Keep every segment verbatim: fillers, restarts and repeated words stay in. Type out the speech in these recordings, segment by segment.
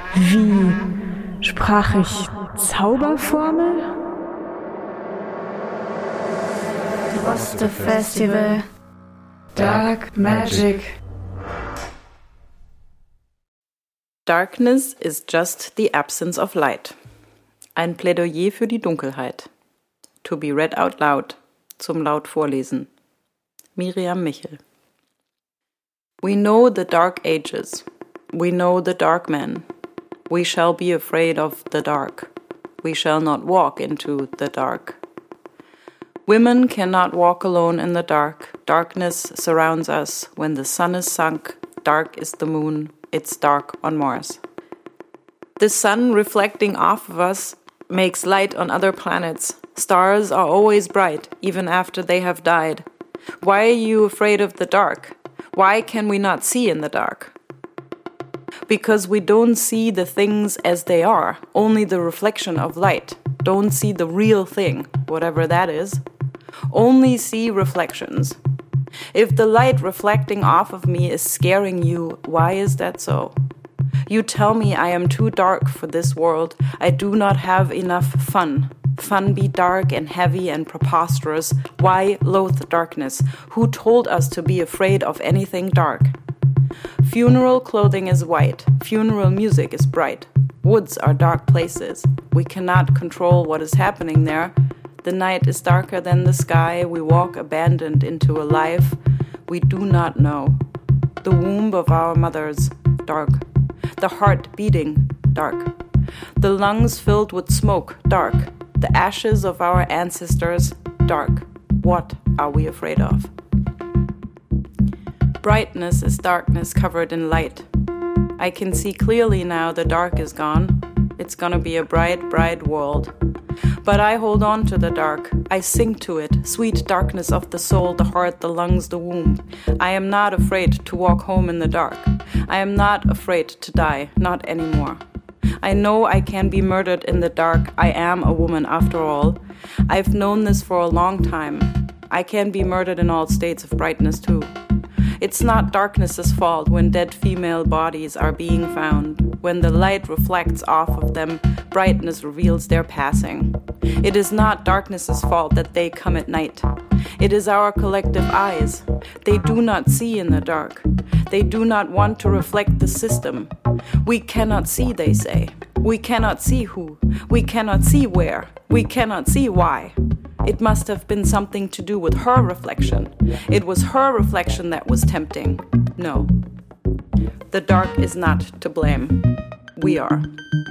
Wie sprach ich Zauberformel? Droste Festival. Dark Magic. Darkness is just the absence of light. Ein Plädoyer für die Dunkelheit. To be read out loud. Zum laut vorlesen. Miriam Michel. We know the dark ages. We know the dark men. We shall be afraid of the dark. We shall not walk into the dark. Women cannot walk alone in the dark. Darkness surrounds us. When the sun is sunk, dark is the moon. It's dark on Mars. The sun reflecting off of us makes light on other planets. Stars are always bright, even after they have died. Why are you afraid of the dark? Why can we not see in the dark? Because we don't see the things as they are, only the reflection of light. Don't see the real thing, whatever that is. Only see reflections. If the light reflecting off of me is scaring you, why is that so? You tell me I am too dark for this world. I do not have enough fun. Fun be dark and heavy and preposterous. Why loathe darkness? Who told us to be afraid of anything dark? Funeral clothing is white. Funeral music is bright. Woods are dark places. We cannot control what is happening there. The night is darker than the sky. We walk abandoned into a life we do not know. The womb of our mothers, dark. The heart beating, dark. The lungs filled with smoke, dark. The ashes of our ancestors, dark. What are we afraid of? Brightness is darkness covered in light. I can see clearly now the dark is gone. It's gonna be a bright, bright world. But I hold on to the dark. I sing to it, sweet darkness of the soul, the heart, the lungs, the womb. I am not afraid to walk home in the dark. I am not afraid to die, not anymore. I know I can be murdered in the dark. I am a woman after all. I've known this for a long time. I can be murdered in all states of brightness too. It's not darkness's fault when dead female bodies are being found. When the light reflects off of them, brightness reveals their passing. It is not darkness's fault that they come at night. It is our collective eyes. They do not see in the dark. They do not want to reflect the system. We cannot see, they say. We cannot see who. We cannot see where. We cannot see why. It must have been something to do with her reflection. It was her reflection that was tempting. No. The dark is not to blame. We are.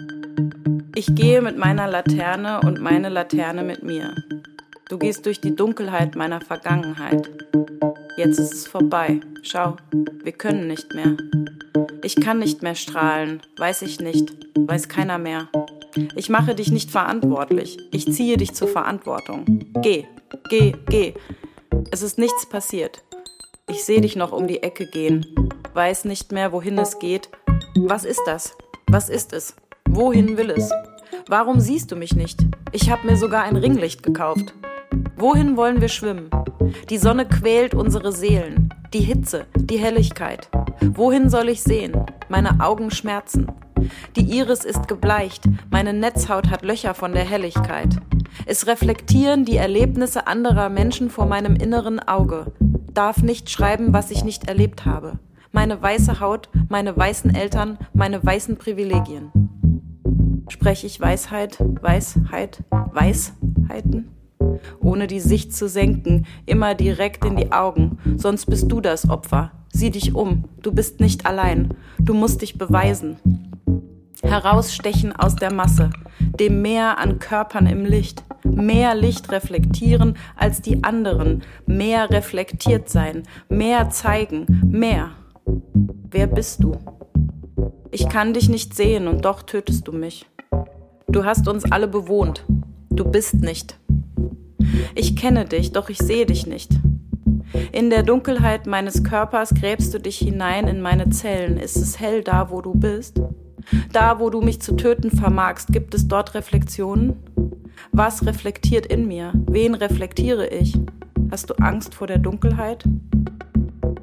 Ich gehe mit meiner Laterne und meine Laterne mit mir. Du gehst durch die Dunkelheit meiner Vergangenheit. Jetzt ist es vorbei. Schau, wir können nicht mehr. Ich kann nicht mehr strahlen, weiß ich nicht, weiß keiner mehr. Ich mache dich nicht verantwortlich. Ich ziehe dich zur Verantwortung. Geh, geh, geh. Es ist nichts passiert. Ich sehe dich noch um die Ecke gehen. Weiß nicht mehr, wohin es geht. Was ist das? Was ist es? Wohin will es? Warum siehst du mich nicht? Ich habe mir sogar ein Ringlicht gekauft. Wohin wollen wir schwimmen? Die Sonne quält unsere Seelen. Die Hitze, die Helligkeit. Wohin soll ich sehen? Meine Augen schmerzen. Die Iris ist gebleicht, meine Netzhaut hat Löcher von der Helligkeit. Es reflektieren die Erlebnisse anderer Menschen vor meinem inneren Auge. Darf nicht schreiben, was ich nicht erlebt habe. Meine weiße Haut, meine weißen Eltern, meine weißen Privilegien. Spreche ich Weisheit, Weisheit, Weisheiten? Ohne die Sicht zu senken, immer direkt in die Augen, sonst bist du das Opfer. Sieh dich um, du bist nicht allein, du musst dich beweisen. Herausstechen aus der Masse, dem Meer an Körpern im Licht, mehr Licht reflektieren als die anderen, mehr reflektiert sein, mehr zeigen, mehr. Wer bist du? Ich kann dich nicht sehen und doch tötest du mich. Du hast uns alle bewohnt, du bist nicht. Ich kenne dich, doch ich sehe dich nicht. In der Dunkelheit meines Körpers gräbst du dich hinein in meine Zellen. Ist es hell da, wo du bist? Da, wo du mich zu töten vermagst, gibt es dort Reflexionen? Was reflektiert in mir? Wen reflektiere ich? Hast du Angst vor der Dunkelheit?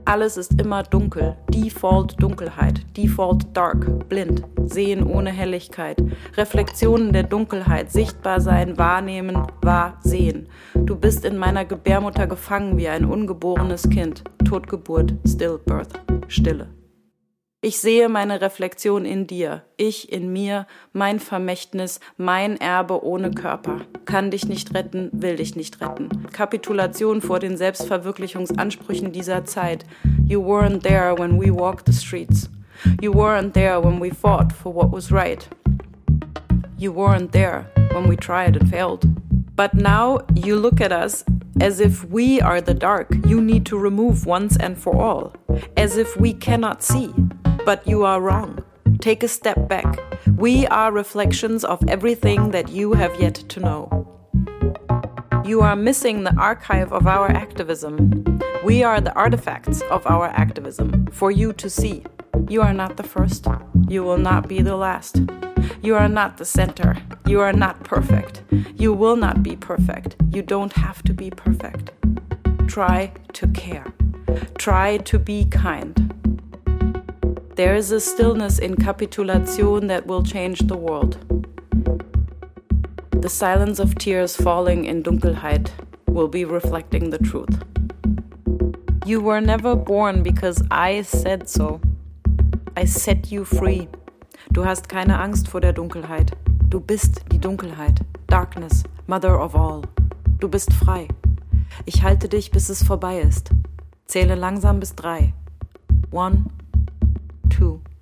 Alles ist immer dunkel, Default Dunkelheit, Default Dark, blind, sehen ohne Helligkeit, Reflexionen der Dunkelheit, sichtbar sein, wahrnehmen, wahr, sehen. Du bist in meiner Gebärmutter gefangen wie ein ungeborenes Kind, Totgeburt, Stillbirth, Stille. Ich sehe meine Reflexion in dir, ich in mir, mein Vermächtnis, mein Erbe ohne Körper. Kann dich nicht retten, will dich nicht retten. Kapitulation vor den Selbstverwirklichungsansprüchen dieser Zeit. You weren't there when we walked the streets. You weren't there when we fought for what was right. You weren't there when we tried and failed. But now you look at us as if we are the dark you need to remove once and for all. As if we cannot see. But you are wrong. Take a step back. We are reflections of everything that you have yet to know. You are missing the archive of our activism. We are the artifacts of our activism for you to see. You are not the first. You will not be the last. You are not the center. You are not perfect. You will not be perfect. You don't have to be perfect. Try to care. Try to be kind. There is a stillness in Kapitulation that will change the world. The silence of tears falling in Dunkelheit will be reflecting the truth. You were never born because I said so. I set you free. Du hast keine Angst vor der Dunkelheit. Du bist die Dunkelheit. Darkness, mother of all. Du bist frei. Ich halte dich, bis es vorbei ist. Zähle langsam bis drei. One, two.